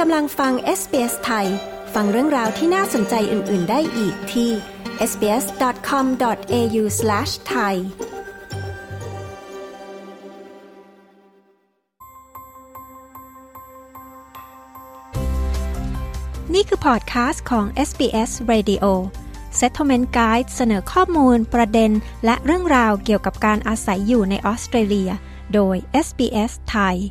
กำลังฟัง SBS ไทยฟังเรื่องราวที่น่าสนใจอื่นๆได้อีกที่ sbs.com.au/thaiนี่คือพอดคาสต์ของ SBS Radio Settlement Guide เสนอข้อมูลประเด็นและเรื่องราวเกี่ยวกับการอาศัยอยู่ในออสเตรเลียโดย SBS ไทย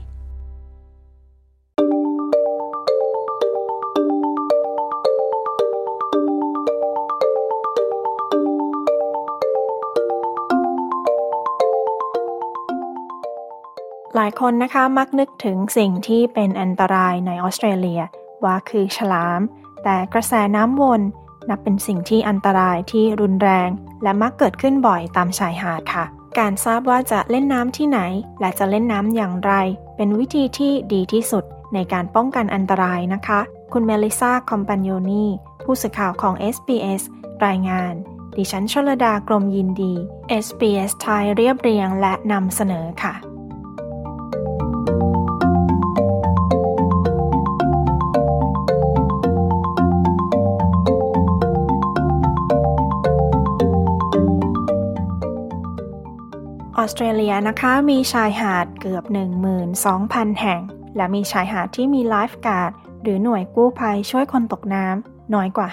หลายคนนะคะมักนึกถึงสิ่งที่เป็นอันตรายในออสเตรเลียว่าคือฉลามแต่กระแสน้ำวนนับเป็นสิ่งที่อันตรายที่รุนแรงและมักเกิดขึ้นบ่อยตามชายหาดค่ะการทราบว่าจะเล่นน้ำที่ไหนและจะเล่นน้ำอย่างไรเป็นวิธีที่ดีที่สุดในการป้องกันอันตรายนะคะคุณเมลิซาคอมปานโยนีผู้สื่อข่าวของ SBS รายงานดิฉันชลดากรมยินดี SBS ไทยเรียบเรียงและนำเสนอค่ะออสเตรเลียนะคะมีชายหาดเกือบ 12,000 แห่งและมีชายหาดที่มีไลฟ์การ์ดหรือหน่วยกู้ภัยช่วยคนตกน้ำน้อยกว่า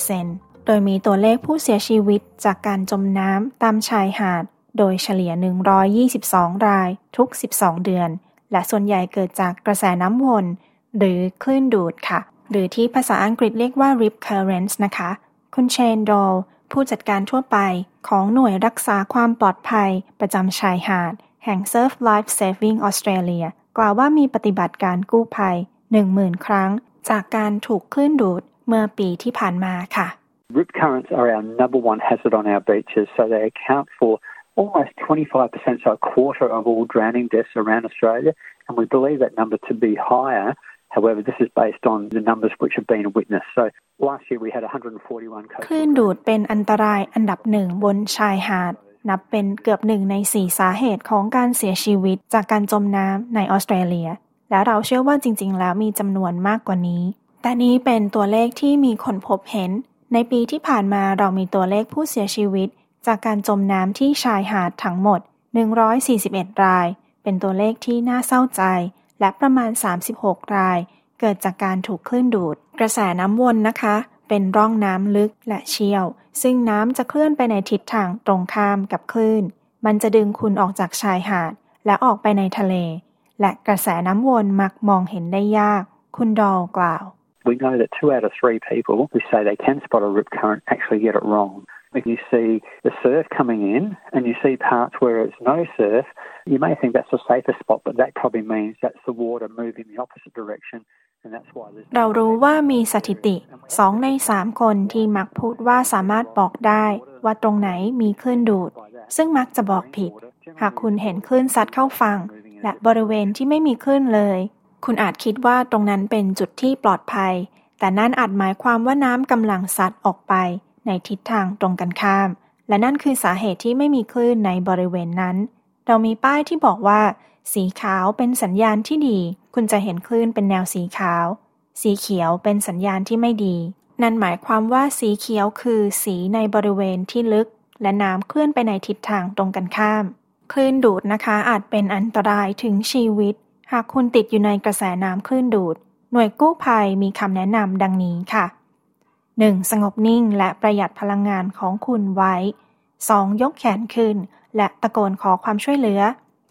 5% โดยมีตัวเลขผู้เสียชีวิตจากการจมน้ำตามชายหาดโดยเฉลี่ย122รายทุก12เดือนและส่วนใหญ่เกิดจากกระแสน้ำวนหรือคลื่นดูดค่ะหรือที่ภาษาอังกฤษเรียกว่า Rip Currents นะคะคุณเชนดอลผู้จัดการทั่วไปของหน่วยรักษาความปลอดภัยประจำชายหาดแห่ง Surf Life Saving Australia กล่าวว่ามีปฏิบัติการกู้ภัย 10,000 ครั้งจากการถูกคลื่นดูดเมื่อปีที่ผ่านมาค่ะ Rip currents are our number one hazard on our beaches, so they account for almost 25%, so a quarter of all drowning deaths around Australia, and we believe that number to be higher.However, this is based on the numbers which have been witnessed. So last year we had 141 cases. คลื่นดูดเป็นอันตรายอันดับหนึ่งบนชายหาดนับเป็นเกือบ1ใน4สาเหตุของการเสียชีวิตจากการจมน้ำในออสเตรเลียและเราเชื่อว่าจริงๆแล้วมีจำนวนมากกว่านี้แต่นี้เป็นตัวเลขที่มีคนพบเห็นในปีที่ผ่านมาเรามีตัวเลขผู้เสียชีวิตจากการจมน้ำที่ชายหาดทั้งหมด141รายเป็นตัวเลขที่น่าเศร้าใจและประมาณ36รายเกิดจากการถูกคลื่นดูดกระแสน้ำวนนะคะเป็นร่องน้ำลึกและเชี่ยวซึ่งน้ำจะเคลื่อนไปในทิศทางตรงข้ามกับคลื่นมันจะดึงคุณออกจากชายหาดและออกไปในทะเลและกระแสน้ำวนมักมองเห็นได้ยากคุณดอลกล่าว We know that 2 out of 3 people who say they can spot a rip current actually get it wrong.If you see the surf coming in and you see parts where it's no surf, you may think that's a safer spot, but that probably means that's the water moving the opposite direction, and that's why there's... เรารู้ว่ามีสถิติ2ใน3คนที่มักพูดว่าสามารถบอกได้ว่าตรงไหนมีคลื่นดูดซึ่งมักจะบอกผิดหากคุณเห็นคลื่นซัดเข้าฝั่งและบริเวณที่ไม่มีคลื่นเลยคุณอาจคิดว่าตรงนั้นเป็นจุดที่ปลอดภัยแต่นั่นอาจหมายความว่าน้ำกำลังซัดออกไปในทิศทางตรงกันข้ามและนั่นคือสาเหตุที่ไม่มีคลื่นในบริเวณนั้นเรามีป้ายที่บอกว่าสีขาวเป็นสัญญาณที่ดีคุณจะเห็นคลื่นเป็นแนวสีขาวสีเขียวเป็นสัญญาณที่ไม่ดีนั่นหมายความว่าสีเขียวคือสีในบริเวณที่ลึกและน้ำเคลื่อนไปในทิศทางตรงกันข้ามคลื่นดูดนะคะอาจเป็นอันตรายถึงชีวิตหากคุณติดอยู่ในกระแสน้ำคลื่นดูดหน่วยกู้ภัยมีคำแนะนำดังนี้ค่ะ1. สงบนิ่งและประหยัดพลังงานของคุณไว้ 2. ยกแขนขึ้นและตะโกนขอความช่วยเหลือ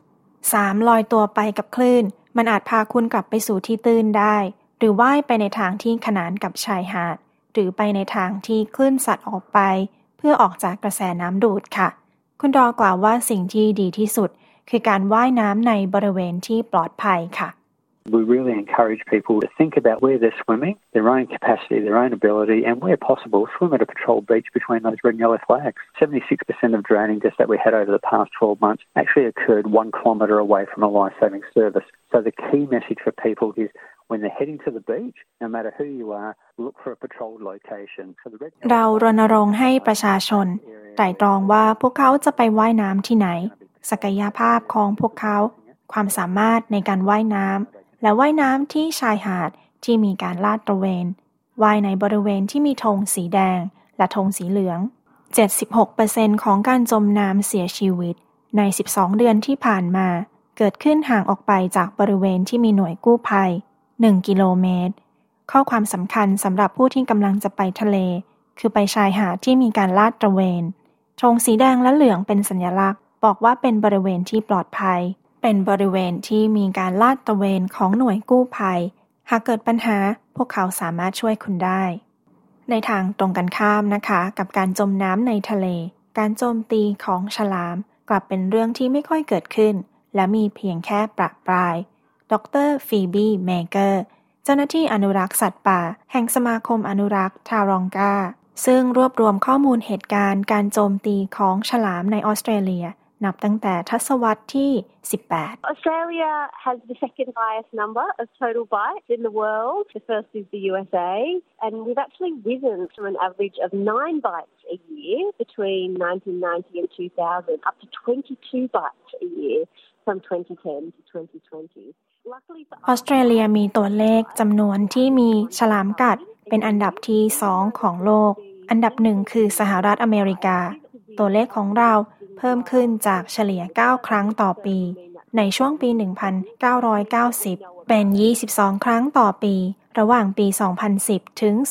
3. ลอยตัวไปกับคลื่นมันอาจพาคุณกลับไปสู่ที่ตื้นได้หรือว่ายไปในทางที่ขนานกับชายหาดหรือไปในทางที่คลื่นซัดออกไปเพื่อออกจากกระแสน้ำดูดค่ะคุณดอกล่าวว่าสิ่งที่ดีที่สุดคือการว่ายน้ำในบริเวณที่ปลอดภัยค่ะ We really encourage people to think about where they're swimming, their own capacity, their own ability, and where possible, swim at a patrolled beach between those red and yellow flags. 76% of drowning deaths that we had over the past 12 months actually occurred 1 kilometre away from a life-saving service. So the key message for people is when they're heading to the beach, no matter who you are, look for a patrolled location. So the red เรารณรงค์ให้ประชาชนไตร่ตรองว่าพวกเขาจะไปว่ายน้ำที่ไหนศักยภาพของพวกเขาความสามารถในการว่ายน้ำและว่ายน้ำที่ชายหาดที่มีการลาดตระเวนว่ายในบริเวณที่มีธงสีแดงและธงสีเหลือง 76% ของการจมน้ำเสียชีวิตใน12เดือนที่ผ่านมาเกิดขึ้นห่างออกไปจากบริเวณที่มีหน่วยกู้ภัย1กิโลเมตรข้อความสำคัญสำหรับผู้ที่กำลังจะไปทะเลคือไปชายหาดที่มีการลาดตระเวนธงสีแดงและเหลืองเป็นสัญลักษณ์บอกว่าเป็นบริเวณที่ปลอดภัยเป็นบริเวณที่มีการลาดตระเวนของหน่วยกู้ภัยหากเกิดปัญหาพวกเขาสามารถช่วยคุณได้ในทางตรงกันข้ามนะคะกับการจมน้ำในทะเลการโจมตีของฉลามกลับเป็นเรื่องที่ไม่ค่อยเกิดขึ้นและมีเพียงแค่ประปรายดร.ฟีบีเมเกอร์เจ้าหน้าที่อนุรักษ์สัตว์ป่าแห่งสมาคมอนุรักษ์ทารองกาซึ่งรวบรวมข้อมูลเหตุการณ์การโจมตีของฉลามในออสเตรเลียนับตั้งแต่ทศวรรษที่ 18 Australia has the second highest number of total bites in the world. The first is the USA, and we've actually risen from an average of 9 bites a year between 1990 and 2000 up to 22 bites a year from 2010 to 2020. ออสเตรเลียมีตัวเลขจำนวนที่มีฉลามกัดเป็นอันดับที่2ของโลกอันดับ1คือสหรัฐอเมริกาตัวเลขของเราเพิ่มขึ้นจากเฉลี่ย9ครั้งต่อปีในช่วงปี 1990 เป็น22ครั้งต่อปีระหว่างปี 2010 ถึง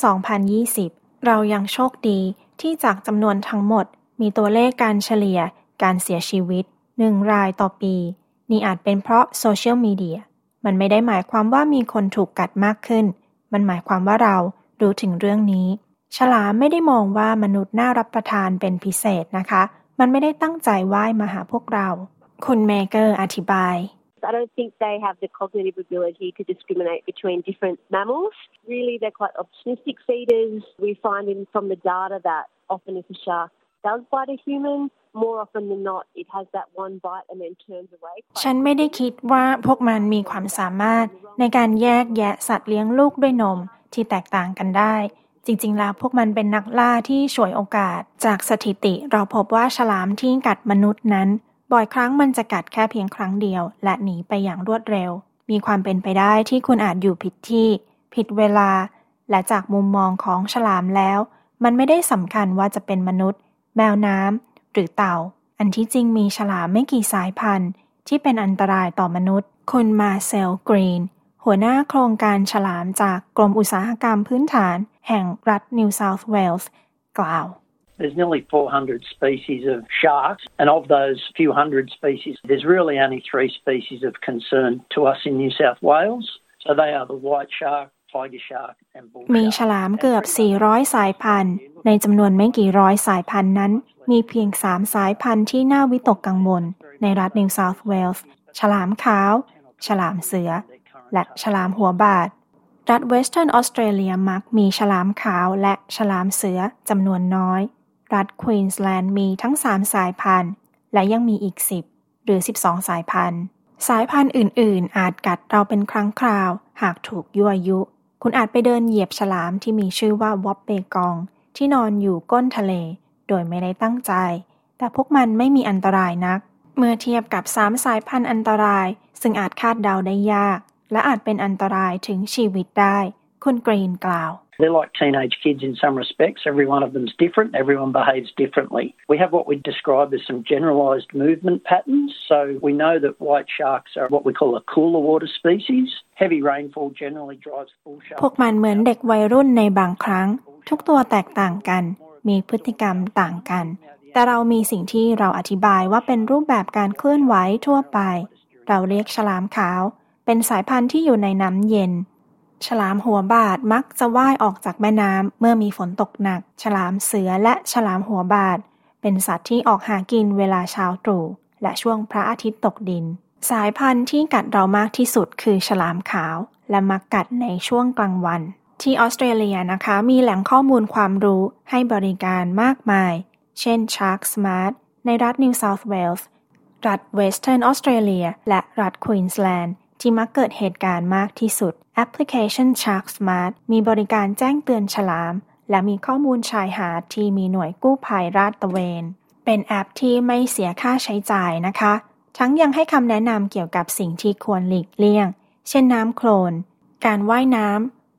2020 เรายังโชคดีที่จากจำนวนทั้งหมดมีตัวเลขการเฉลี่ยการเสียชีวิต1รายต่อปีนี่อาจเป็นเพราะโซเชียลมีเดียมันไม่ได้หมายความว่ามีคนถูกกัดมากขึ้นมันหมายความว่าเรารู้ถึงเรื่องนี้ฉลามไม่ได้มองว่ามนุษย์น่ารับประทานเป็นพิเศษนะคะมันไม่ได้ตั้งใจว่ายมาหาพวกเราคุณเมเกอร์อธิบาย I don't think they have the cognitive ability to discriminate between different mammals. Really, they're quite opportunistic feeders. We find from the data that often if a shark does bite a human, more often than not, it has that one bite and then turns away. ฉันไม่ได้คิดว่าพวกมันมีความสามารถในการแยกแยะสัตว์เลี้ยงลูกด้วยนมที่แตกต่างกันได้จริงๆแล้วพวกมันเป็นนักล่าที่ฉวยโอกาสจากสถิติเราพบว่าฉลามที่กัดมนุษย์นั้นบ่อยครั้งมันจะกัดแค่เพียงครั้งเดียวและหนีไปอย่างรวดเร็วมีความเป็นไปได้ที่คุณอาจอยู่ผิดที่ผิดเวลาและจากมุมมองของฉลามแล้วมันไม่ได้สำคัญว่าจะเป็นมนุษย์แมวน้ำหรือเต่าอันที่จริงมีฉลามไม่กี่สายพันธุ์ที่เป็นอันตรายต่อมนุษย์คุณมาเซลกรีนหัวหน้าโครงการฉลามจากกรมอุตสาหกรรมพื้นฐานแห่งรัฐนิวเซาท์เวลส์กล่าว There's nearly 400 species of sharks, and of those few hundred species, there's really only 3 species of concern to us in New South Wales. So they are the white shark, tiger shark, and bull shark. มีฉลามเกือบ400สายพันธุ์ในจำนวนไม่กี่ร้อยสายพันธุ์นั้นมีเพียง3สายพันธุ์ที่น่าวิตกกังวลในรัฐนิวเซาท์เวลส์ฉลามขาวฉลามเสือและฉลามหัวบาดรัฐเวสเทิร์นออสเตรเลียมักมีฉลามขาวและฉลามเสือจำนวนน้อยรัฐควีนสแลนด์มีทั้ง3สายพันธุ์และยังมีอีก10หรือ12สายพันธุ์สายพันธุ์อื่นๆอาจกัดเราเป็นครั้งคราวหากถูกยั่วยุคุณอาจไปเดินเหยียบฉลามที่มีชื่อว่าวอปเปกองที่นอนอยู่ก้นทะเลโดยไม่ได้ตั้งใจแต่พวกมันไม่มีอันตรายนักเมื่อเทียบกับ3สายพันธุ์อันตรายซึ่งอาจคาดเดาได้ยากและอาจเป็นอันตรายถึงชีวิตได้คุณกรีนกล่าว They're like teenage kids in some respects. Every one of them's different. Everyone behaves differently. We have what we describe as some generalised movement patterns. So we know that white sharks are what we call a cooler water species. Heavy rainfall generally drives bull sharks. พวกมันเหมือนเด็กวัยรุ่นในบางครั้งทุกตัวแตกต่างกันมีพฤติกรรมต่างกันแต่เรามีสิ่งที่เราอธิบายว่าเป็นรูปแบบการเคลื่อนไหวทั่วไปเราเรียกฉลามขาวเป็นสายพันธุ์ที่อยู่ในน้ำเย็นฉลามหัวบาดมักจะว่ายออกจากแม่น้ำเมื่อมีฝนตกหนักฉลามเสือและฉลามหัวบาดเป็นสัตว์ที่ออกหากินเวลาเช้าตรู่และช่วงพระอาทิตย์ตกดินสายพันธุ์ที่กัดเรามากที่สุดคือฉลามขาวและมักกัดในช่วงกลางวันที่ออสเตรเลียนะคะมีแหล่งข้อมูลความรู้ให้บริการมากมายเช่น Shark Smart ในรัฐ New South Wales รัฐ Western Australia และรัฐ Queensland ที่มักเกิดเหตุการณ์มากที่สุดแอปพลิเคชัน Shark Smart มีบริการแจ้งเตือนฉลามและมีข้อมูลชายหาดที่มีหน่วยกู้ภัยลาดตระเวนเป็นแอปที่ไม่เสียค่าใช้จ่ายนะคะทั้งยังให้คำแนะนำเกี่ยวกับสิ่งที่ควรหลีกเลี่ยงเช่นน้ำโคลนการว่ายน้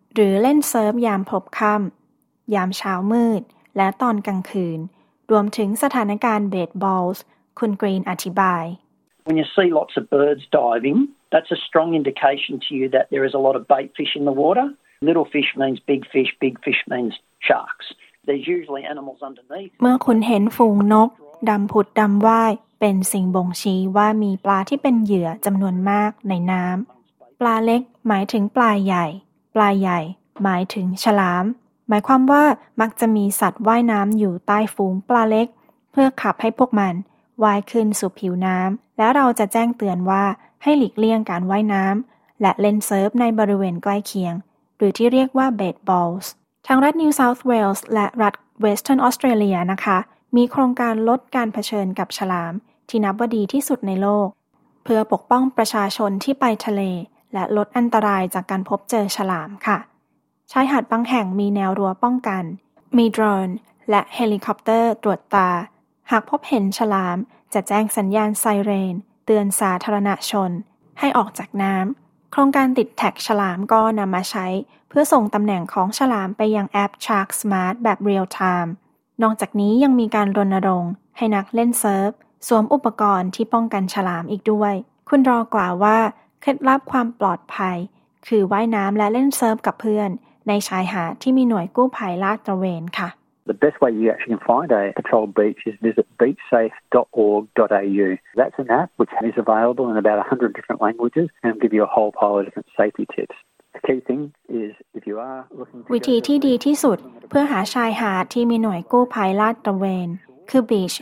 หรือเล่นเซิร์ฟยามพลบค่ำยามเช้ามืดและตอนกลางคืนรวมถึงสถานการณ์เบสบอลส์คุณกรีนอธิบาย When you see lots of birds diving, that's a strong indication to you that there is a lot of bait fish in the water. Little fish means big fish means sharks. There's usually animals underneath. เมื่อคุณเห็นฝูงนกดำผุดดำว่ายเป็นสิ่งบ่งชี้ว่ามีปลาที่เป็นเหยื่อจำนวนมากในน้ำปลาเล็กหมายถึงปลาใหญ่ปลาใหญ่หมายถึงฉลามหมายความว่ามักจะมีสัตว์ว่ายน้ำอยู่ใต้ฝูงปลาเล็กเพื่อขับให้พวกมันว่ายขึ้นสู่ผิวน้ำแล้วเราจะแจ้งเตือนว่าให้หลีกเลี่ยงการว่ายน้ำและเล่นเซิร์ฟในบริเวณใกล้เคียงหรือที่เรียกว่าเบสบอลส์ทางรัฐ New South Wales และรัฐ Western Australia นะคะมีโครงการลดการเผชิญกับฉลามที่นับว่าดีที่สุดในโลกเพื่อปกป้องประชาชนที่ไปทะเลและลดอันตรายจากการพบเจอฉลามค่ะชายหาดบางแห่งมีแนวรั้วป้องกันมีโดรนและเฮลิคอปเตอร์ตรวจตาหากพบเห็นฉลามจะแจ้งสัญญาณไซเรนเตือนสาธารณชนให้ออกจากน้ำโครงการติดแท็กฉลามก็นำมาใช้เพื่อส่งตำแหน่งของฉลามไปยังแอป Shark Smart แบบ Real Time นอกจากนี้ยังมีการรณรงค์ให้นักเล่นเซิร์ฟสวมอุปกรณ์ที่ป้องกันฉลามอีกด้วยคุณรอกล่าวว่าเคล็ดลับความปลอดภัยคือว่ายน้ำและเล่นเซิร์ฟกับเพื่อนในชายหาดที่มีหน่วยกู้ภัยลาดตระเวนค่ะ The best way you actually can find a patrolled beach is visit beachsafe.org.au. That's an app which is available in about 100 different languages and will give you a whole pile of different safety tips. The key thing is if you are looking to วิธีที่ดีที่สุดเพื่อหาชายหาดที่มีหน่วยกู้ภัยลาดตระเวนคือ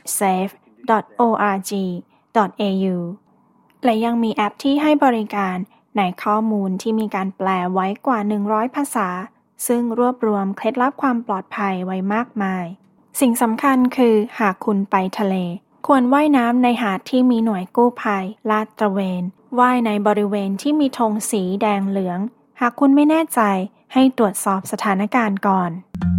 beachsafe.org.au และยังมีแอปที่ให้บริการในข้อมูลที่มีการแปลไว้กว่า100ภาษาซึ่งรวบรวมเคล็ดลับความปลอดภัยไว้มากมายสิ่งสำคัญคือหากคุณไปทะเลควรว่ายน้ำในหาดที่มีหน่วยกู้ภัยลาดตระเวนว่ายในบริเวณที่มีธงสีแดงเหลืองหากคุณไม่แน่ใจให้ตรวจสอบสถานการณ์ก่อน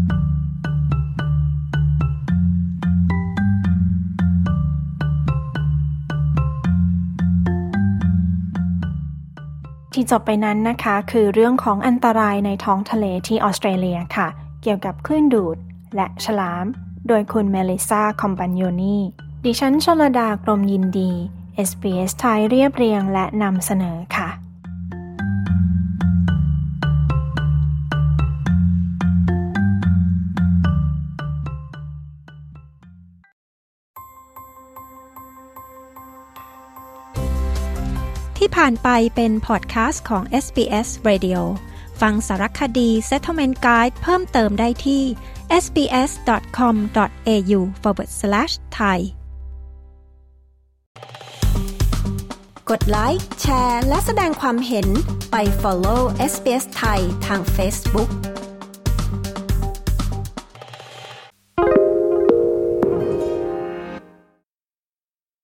ที่จบไปนั้นนะคะคือเรื่องของอันตรายในท้องทะเลที่ออสเตรเลียค่ะเกี่ยวกับคลื่นดูดและฉลามโดยคุณเมลิซาคอมปาญโญนีดิฉันชลดากรมยินดี SBS ไทยเรียบเรียงและนำเสนอค่ะที่ผ่านไปเป็นพอดแคสต์ของ SBS Radio ฟังสารคดี Settlement Guide เพิ่มเติมได้ที่ sbs.com.au/thai กดไลค์แชร์และแสดงความเห็นไป follow SBS ไทยทาง Facebook